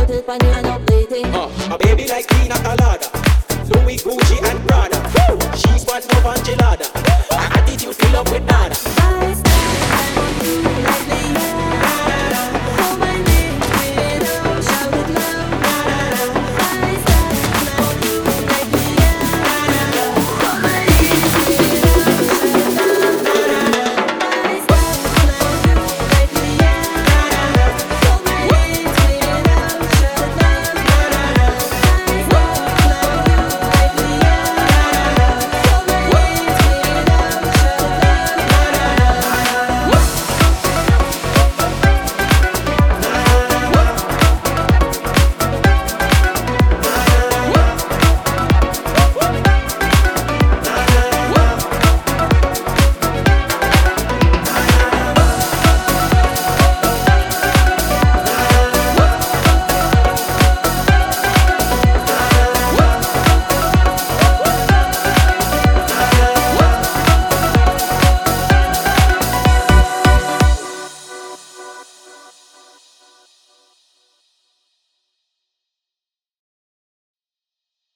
little funny and updating. A baby like Pina Colada, Louis, Gucci and Prada. She's what no enchilada. Her attitude fill up with nada. I stand on you like the